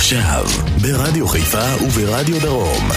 עכשיו, ברדיו חיפה וברדיו דרום.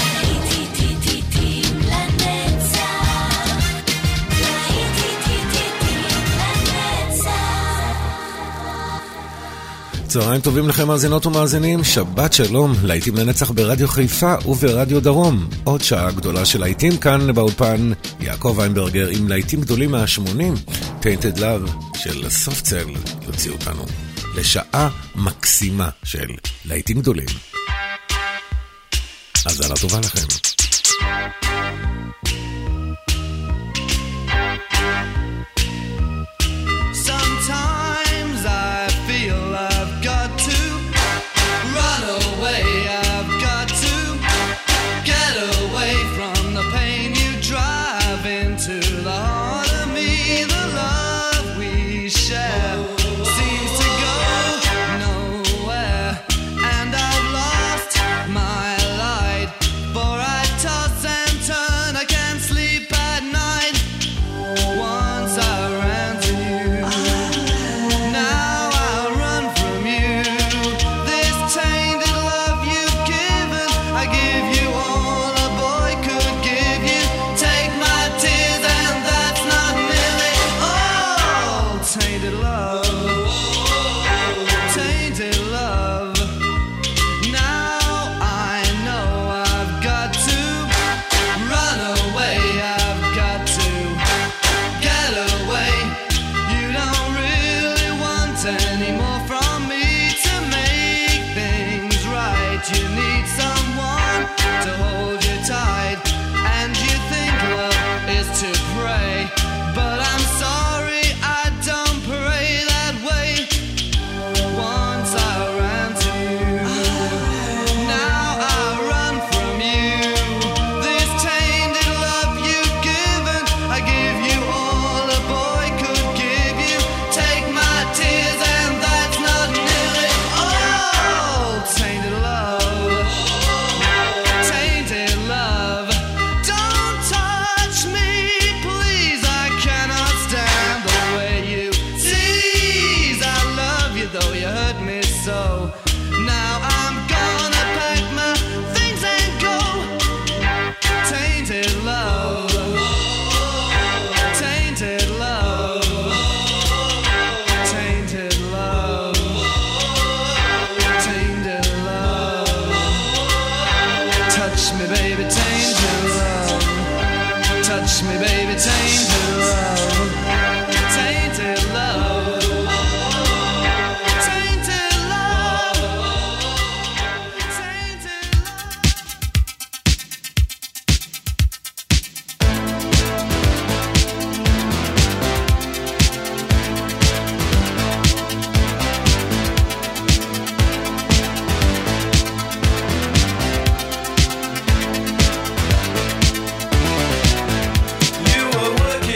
צהריים טובים לכם מאזינות ומאזינים, שבת שלום, להיטים לנצח ברדיו חיפה וברדיו דרום. עוד שעה גדולה של להיטים כאן באולפן, יעקב ויינברגר עם להיטים גדולים מה-80, Tainted Love של סופצל, יוציא אותנו לשעה מקסימה של להיטים גדולים. האזנה טובה לכם. You were working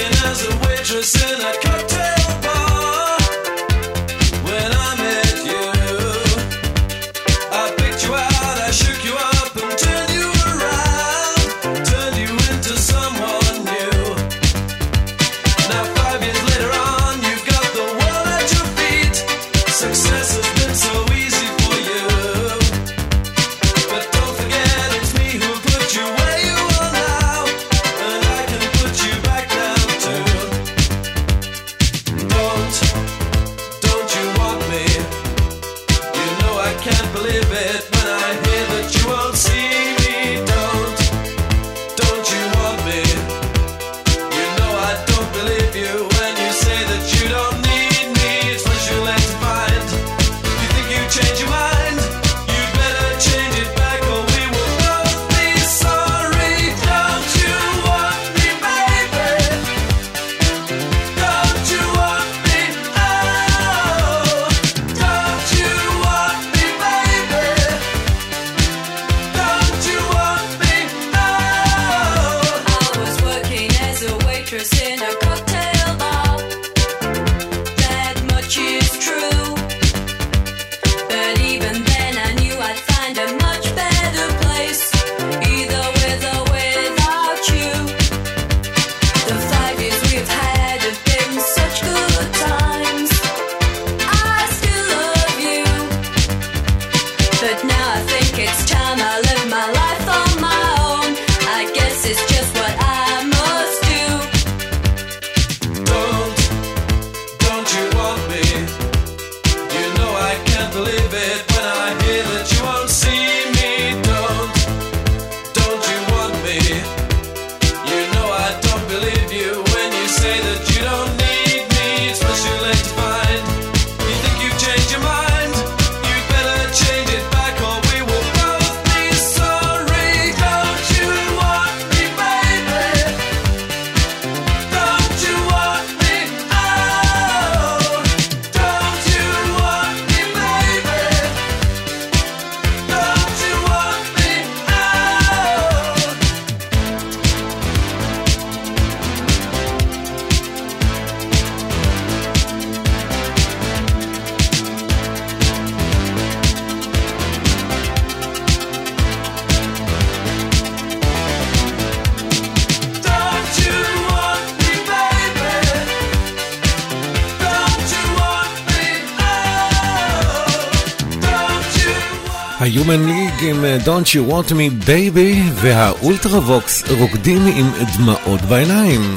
ה-Human League עם Don't You Want Me Baby, והאולטרווקס רוקדים עם דמעות בעיניים.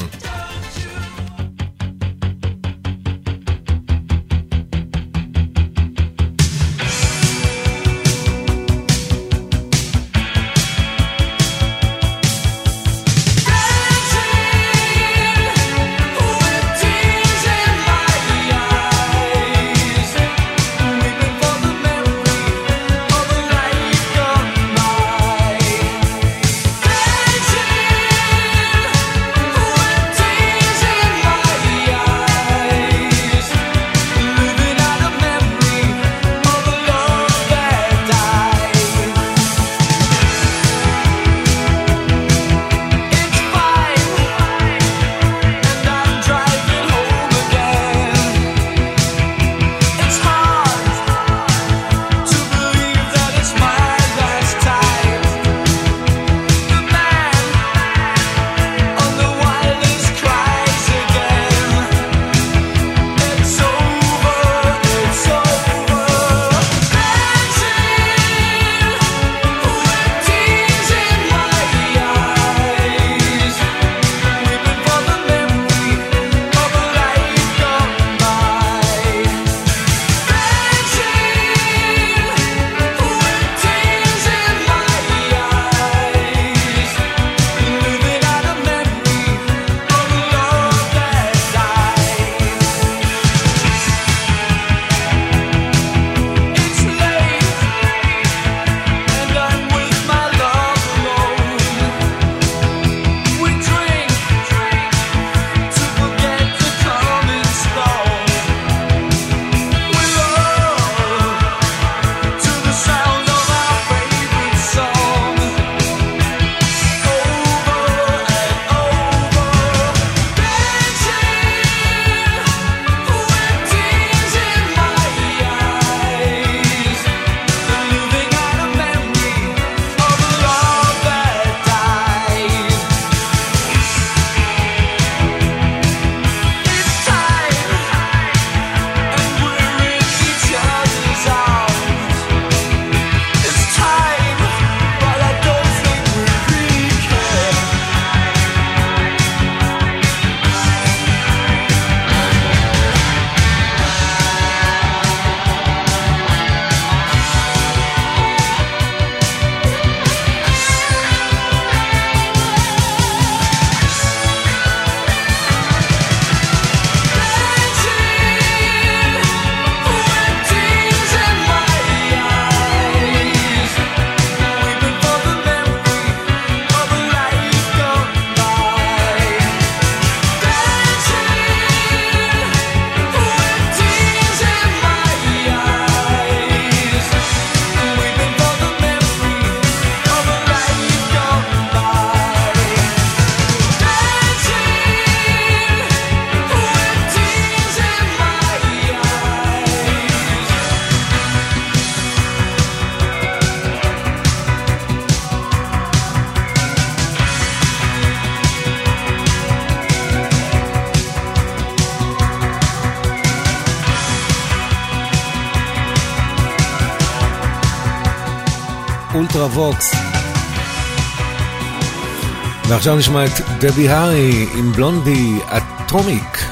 אולטרווקס ועכשיו נשמע את דבי הארי עם בלונדי אטומיק.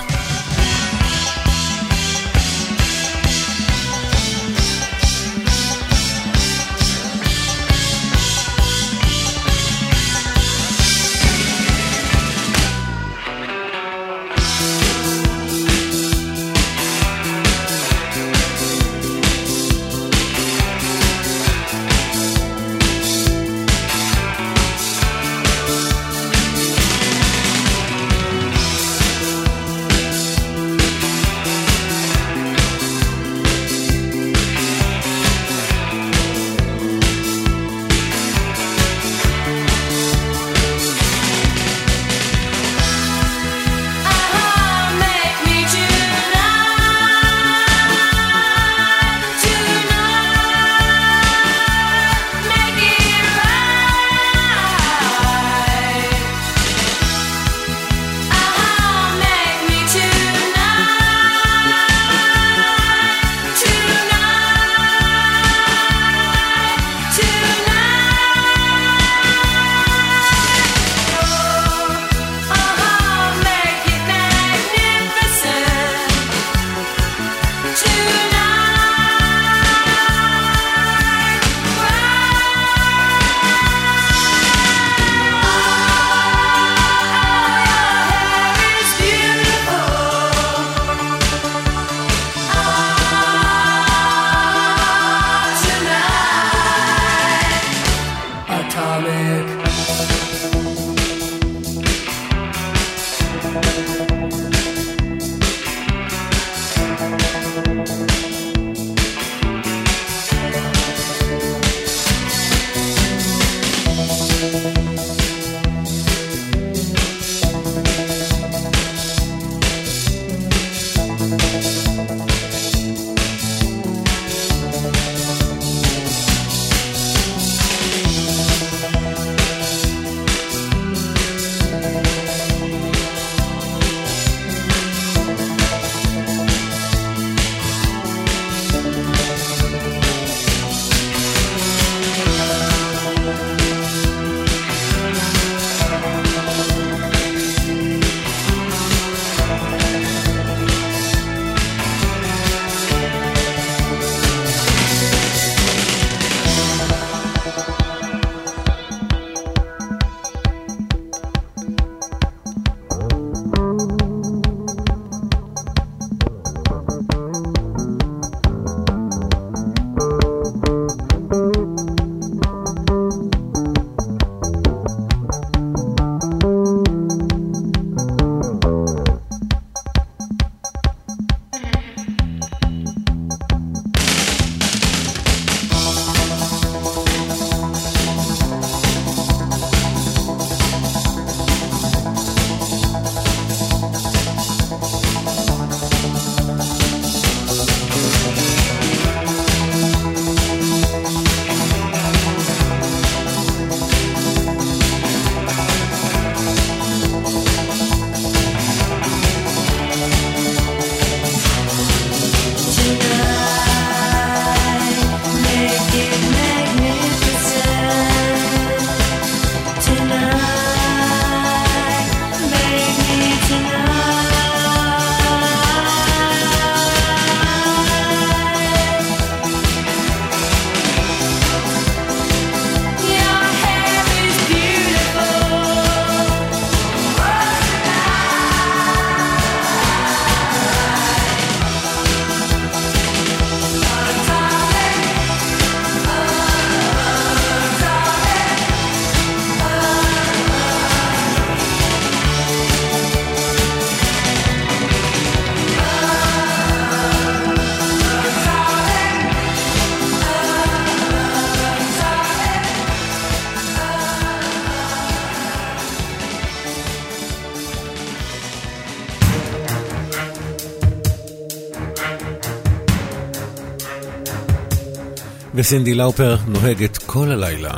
וסינדי לאופר נוהגת כל הלילה.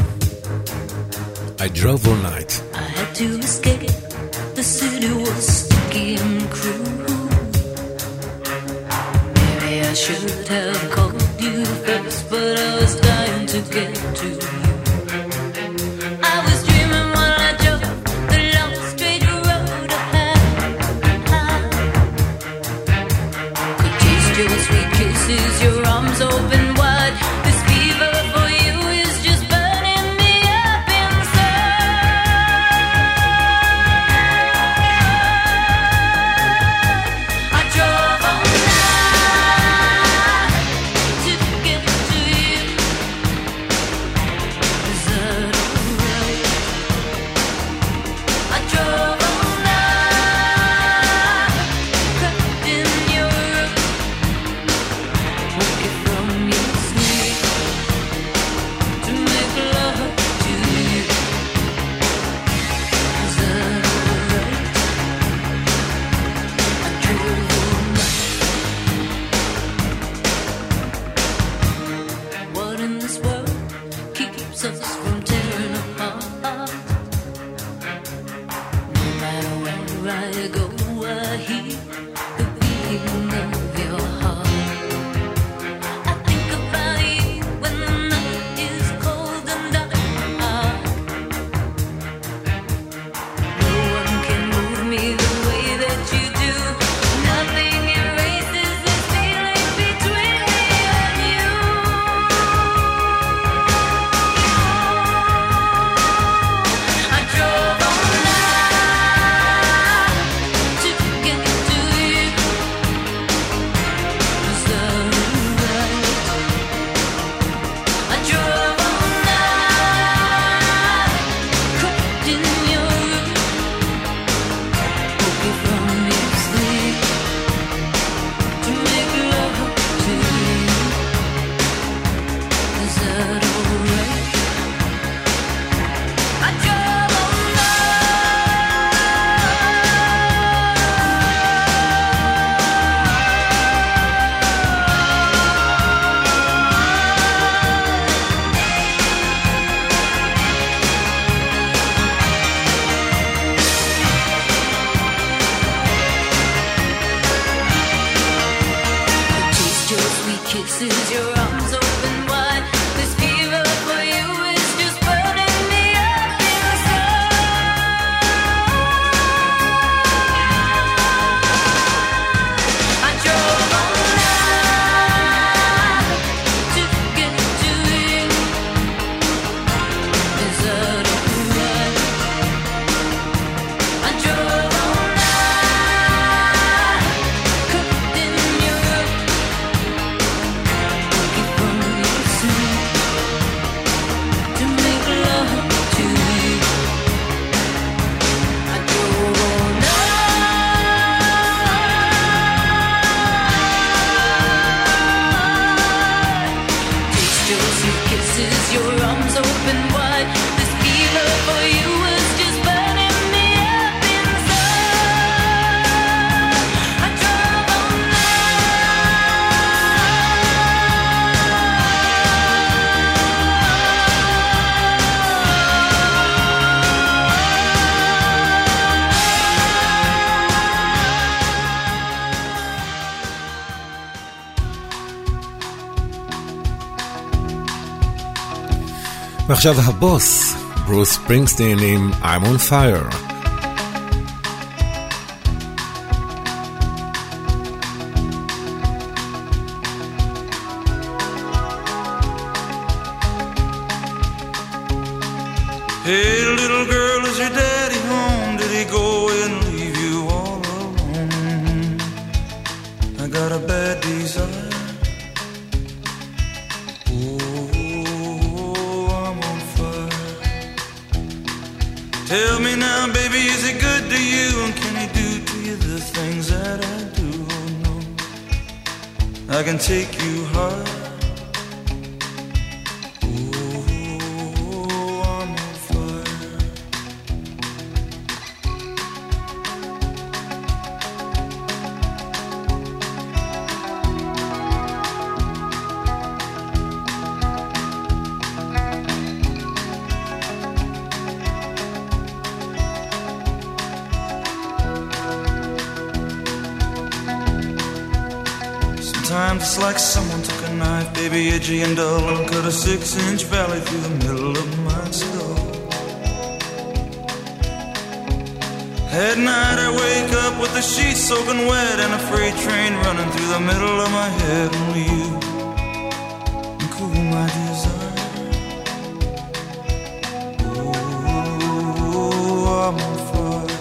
I drove all night. I had to escape. The city was sticky and cruel. Maybe I should have called you first, but I was dying to get to you. I was dreaming while I drove I go, I hear the beating of your heart. I think about you when the night is cold and dark. No one can move me the way that you do. Nothing erases this feeling between me and you. I drove all night to get to you. Was that right? I drove all night, cooked in your room, woke you from your sleep to make love to you. Is that alright? I drove all taste your sweet kisses, your arms open wide. This fever for you is just burning me up inside. I drove all night to get to you. Is that alright? I drove all night, cooked in your room, woke you from your sleep to make love to you. I drove all night. Taste your sweet kisses, your arms open wide. This fever for you was just burning me up inside. I drove all ועכשיו הבוס, ברוס ספרינגסטין עם I'm on Fire. Hey, little girl, is your daddy home? Did he go and leave you all alone? I got a bad desire. Oh, I'm on fire. Tell me now, baby, is he good to you? And can he do to you the things that I do? Oh, no, I can take you high. Sometimes it's like someone took a knife, baby, edgy and dull, and cut a 6-inch valley through the middle of my skull. At night I wake up with the sheets soaking wet and a freight train running through the middle of my head. Only you can cool my desire. Oh, I'm on fire.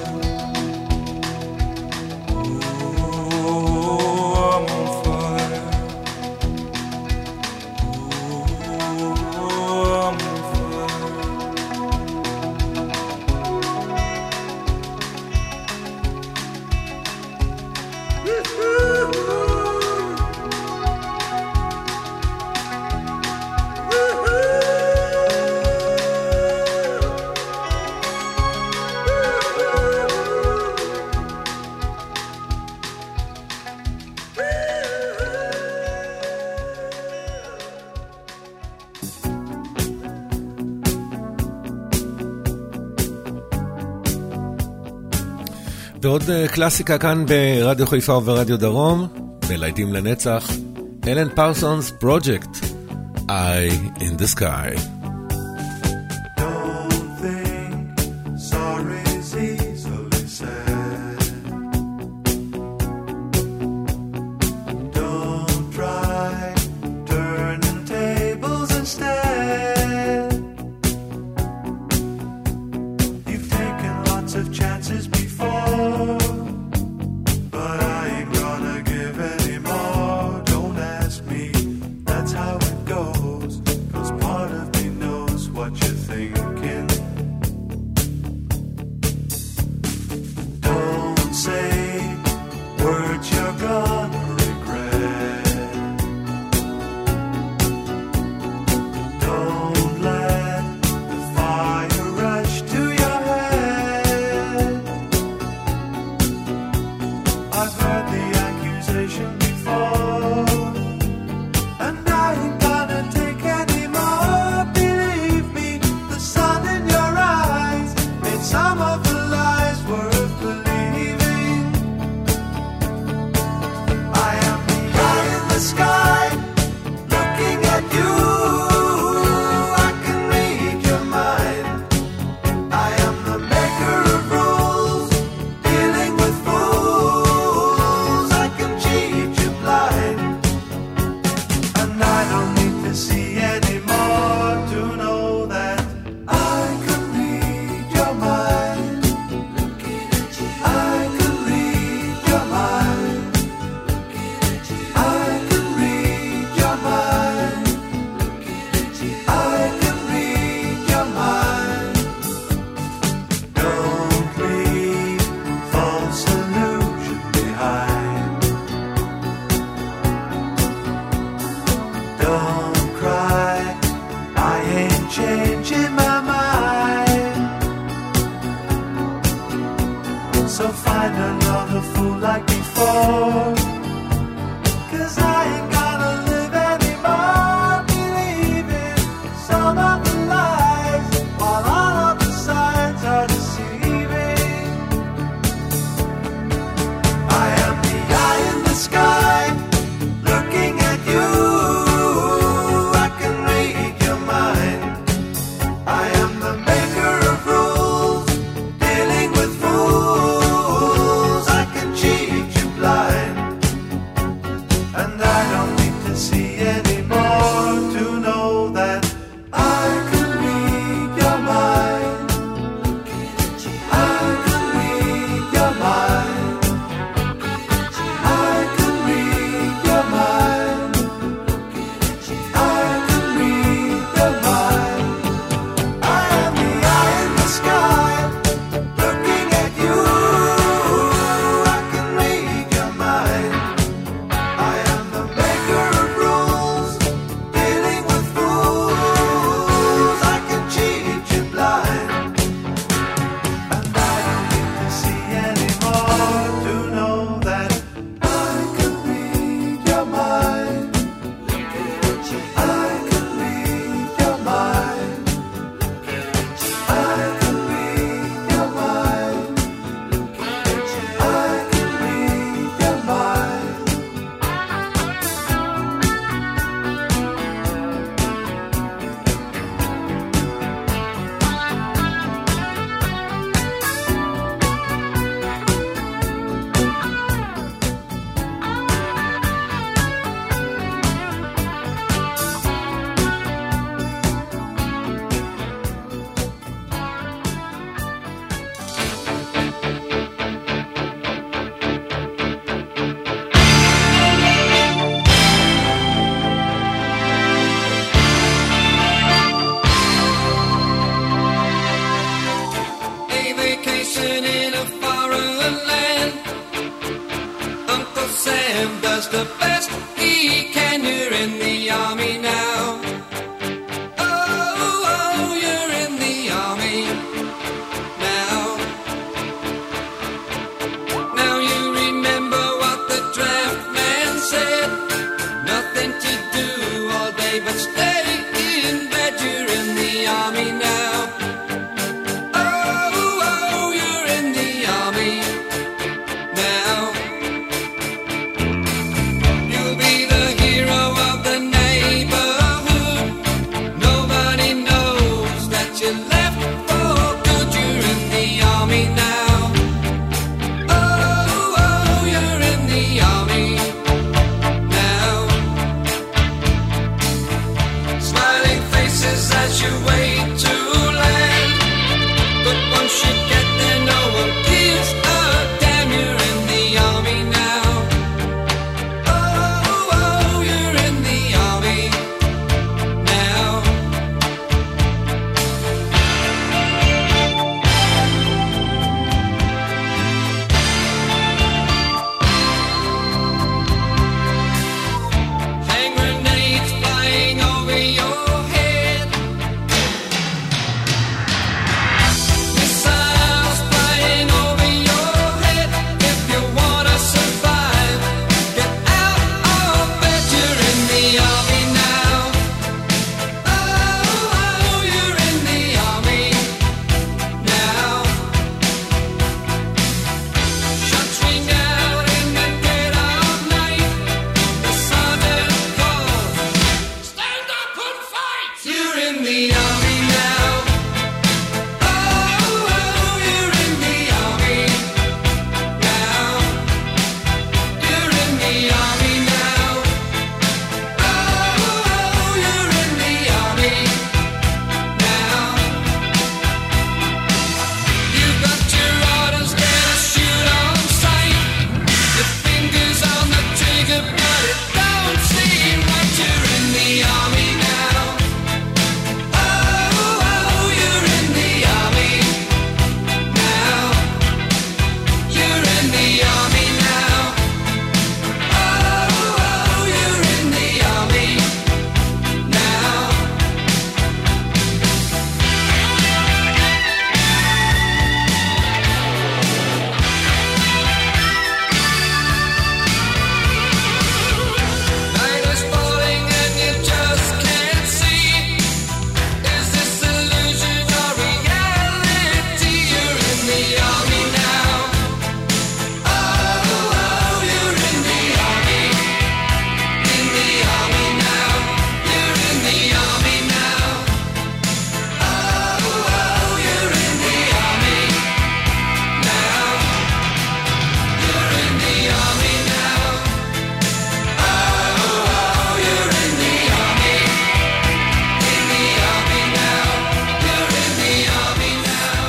Oh, I'm on fire. Oh, I'm on fire. ועוד קלאסיקה כאן ברדיו חיפה וברדיו דרום, בלהיטים לנצח, אלן פרסונס פרוג'קט, Eye in the Sky.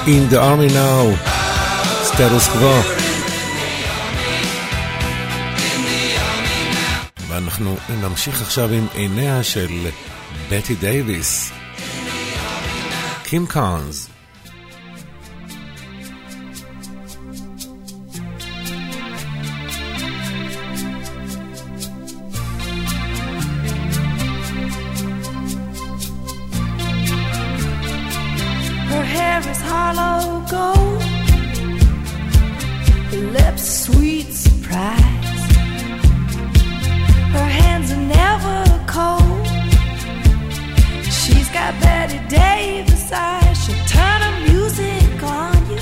In the Army Now, סטטוס קוו. ואנחנו נמשיך עכשיו עם עיניה של בטי דייביס, קים קארנס. Her hair is hollow gold, her lips sweet surprise, her hands are never cold. She's got Betty Davis eyes, she'll turn her music on you.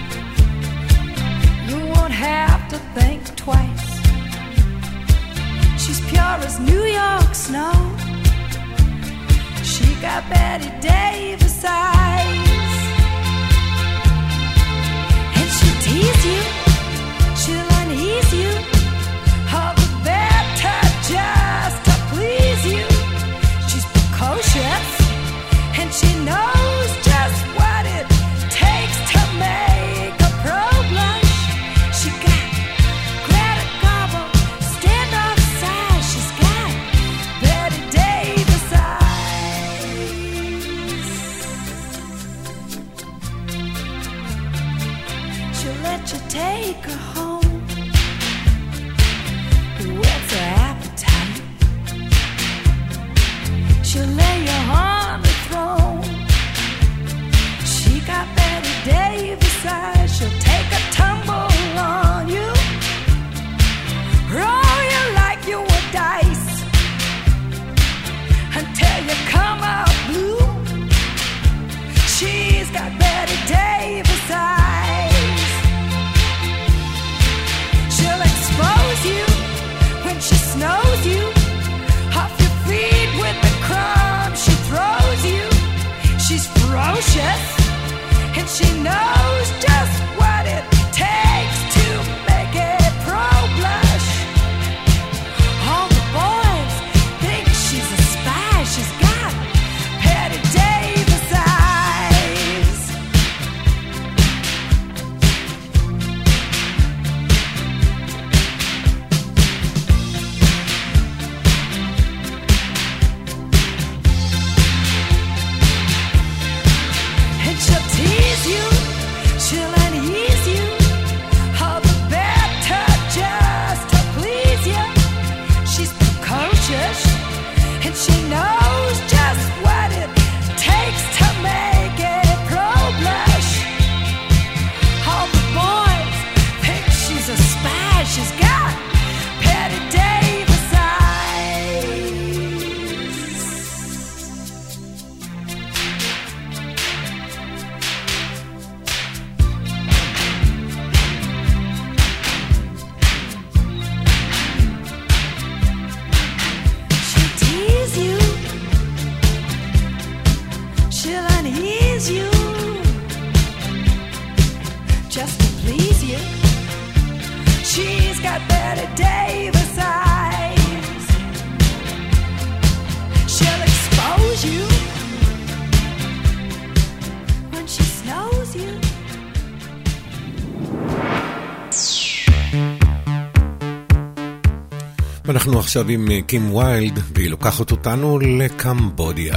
You won't have to think twice. She's pure as New York snow. She got Betty Davis eyes, and she'll tease you, she'll unease you, all the better just to please you. She's precocious, and she knows just what it takes to make a pro blush. She got Greta Garbo, standoff size. She's got Betty Davis eyes. She'll let you take her home, whets her appetite. She'll lay you on the throne. She got Betty Davis eyes. She'll take a tumble on you, roll you like you were dice, until you come out blue. She's got Betty Davis eyes. She'll expose you when she snows you off your feet with the crumbs she throws you. She's ferocious, and she knows just what it takes to make a pro blush. All the boys think she's a spy. She's got Betty Davis eyes. And she'll tease you, she'll unease you, all the better just to please you. She's precocious, and she knows just what it takes to make a pro blush. All the boys think she's a spy. She's got Betty Davis eyes. She'll tease you, she'll unease you, just to please you. She's got Betty Davis eyes. She'll expose you when she snows you. ואנחנו עכשיו עם קים ויילד, והיא לוקחת אותנו לקמבודיה.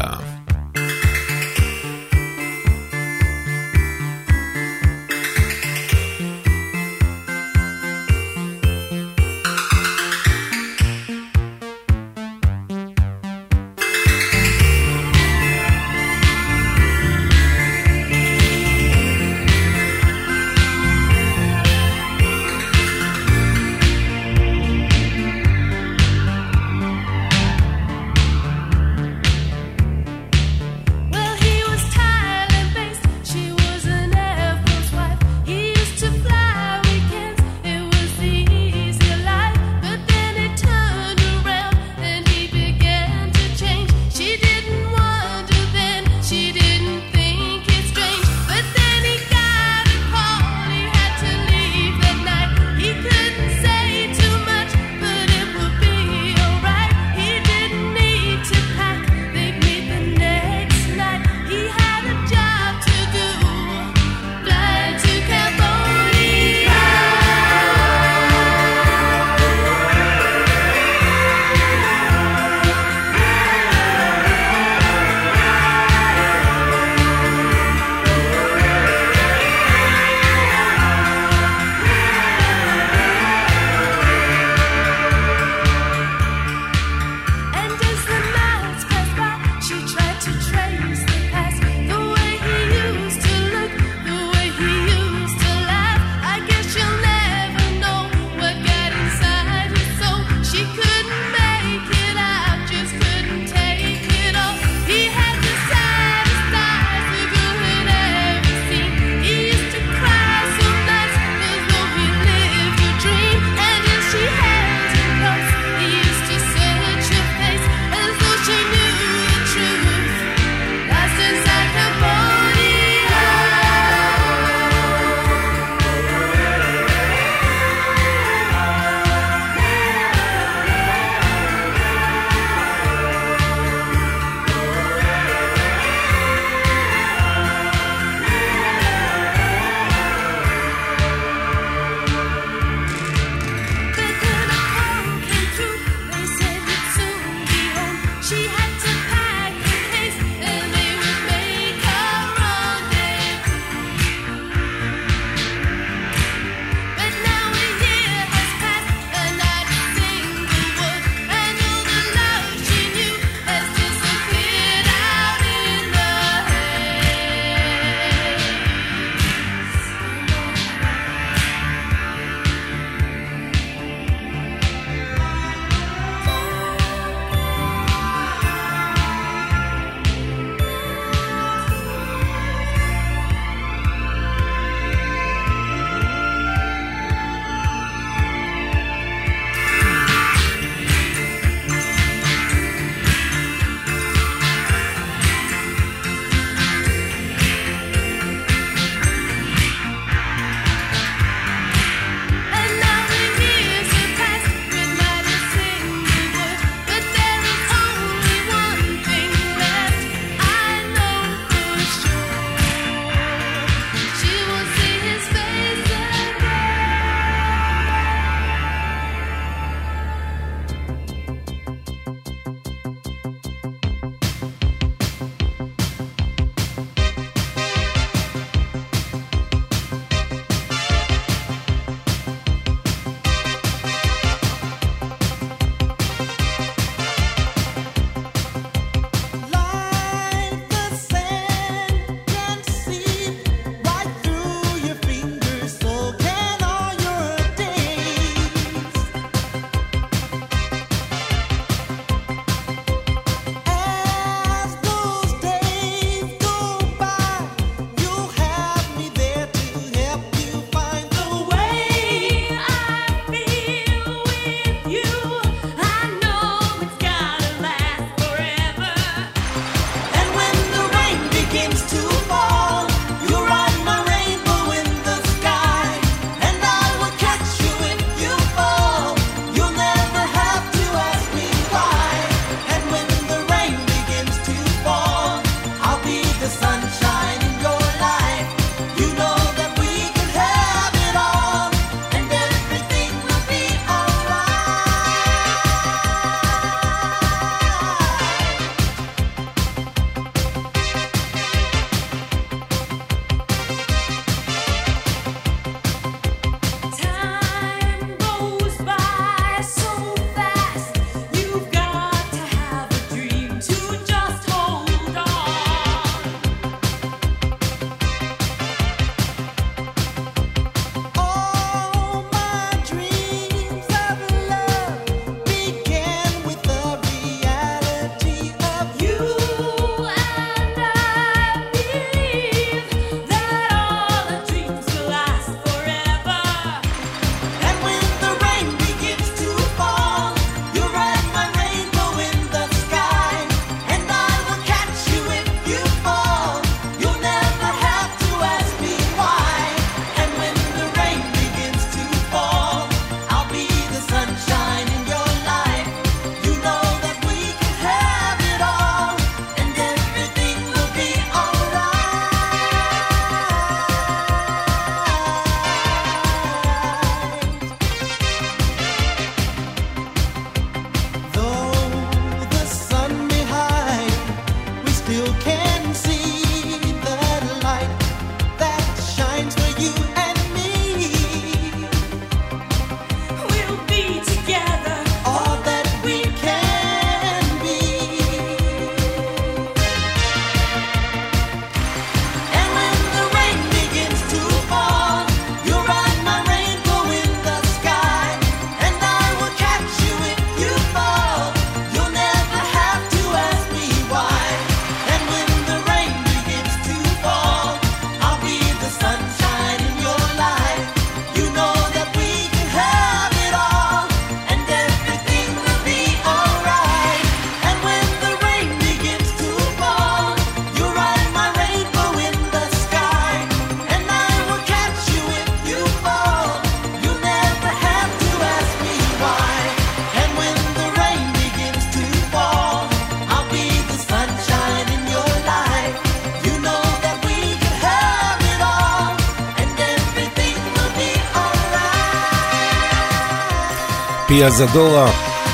פיה זדורה.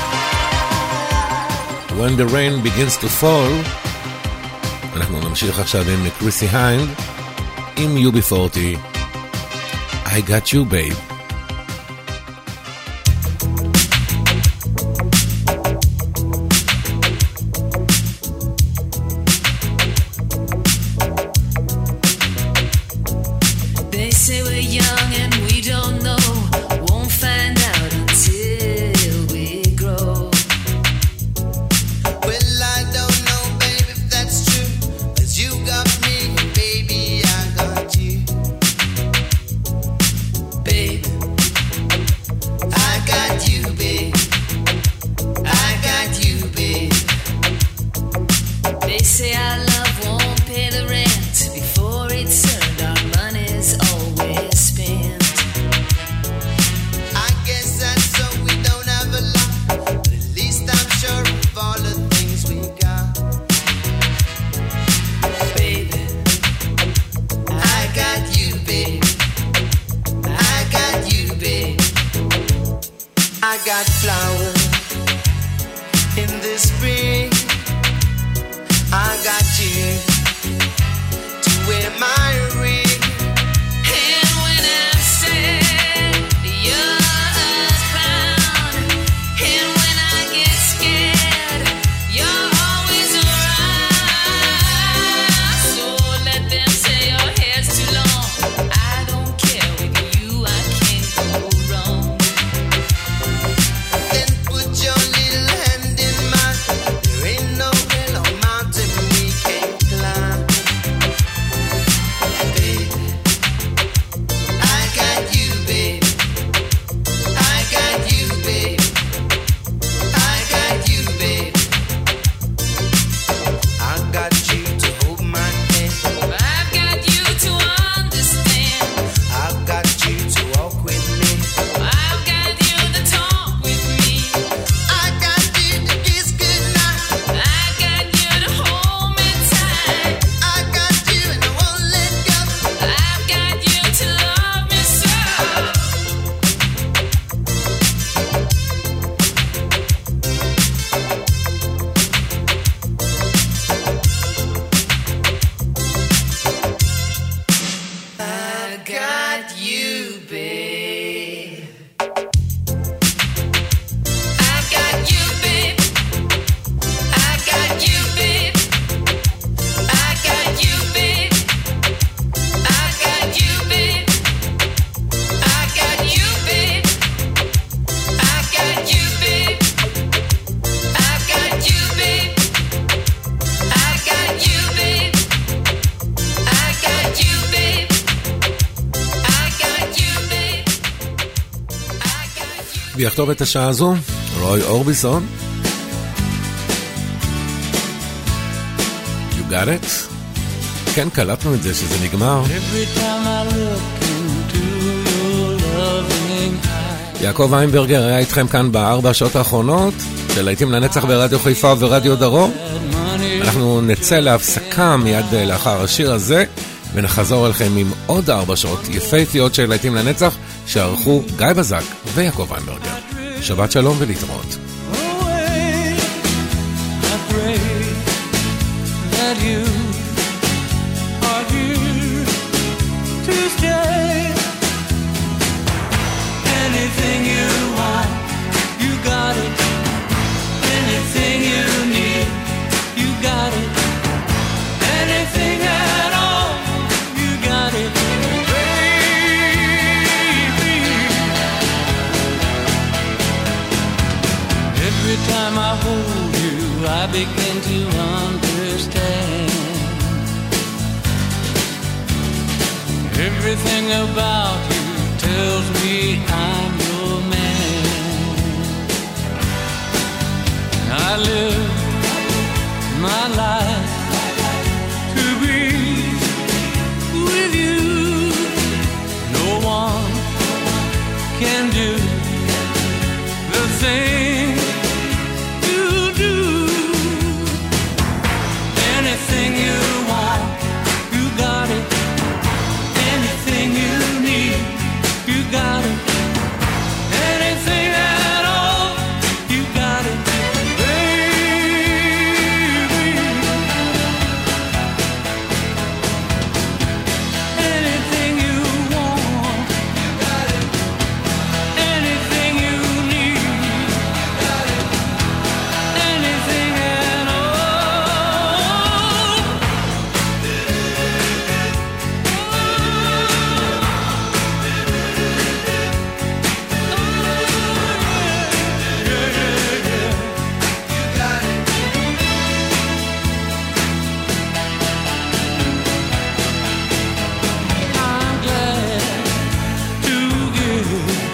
When the rain begins to fall. אנחנו נמשיך עכשיו עם קריסי היינד עם UB40 I got you babe. ויכתוב את השעה הזו רוי אורביסון. You got it? כן, קלטנו את זה שזה נגמר. יעקב איינברגר היה איתכם כאן ב4 שעות האחרונות של להיטים לנצח ברדיו חיפה ורדיו דרום. אנחנו נצא להפסקה מיד לאחר השיר הזה ונחזור אליכם עם עוד 4 שעות יפהפיות של להיטים לנצח שערכו גיא בזק ויעקב איינברגר. שבת שלום ולהתראות. I begin to understand everything about you tells me I'm your man. I live my life to be with you. No one can do the thing got it. Anything at all. you.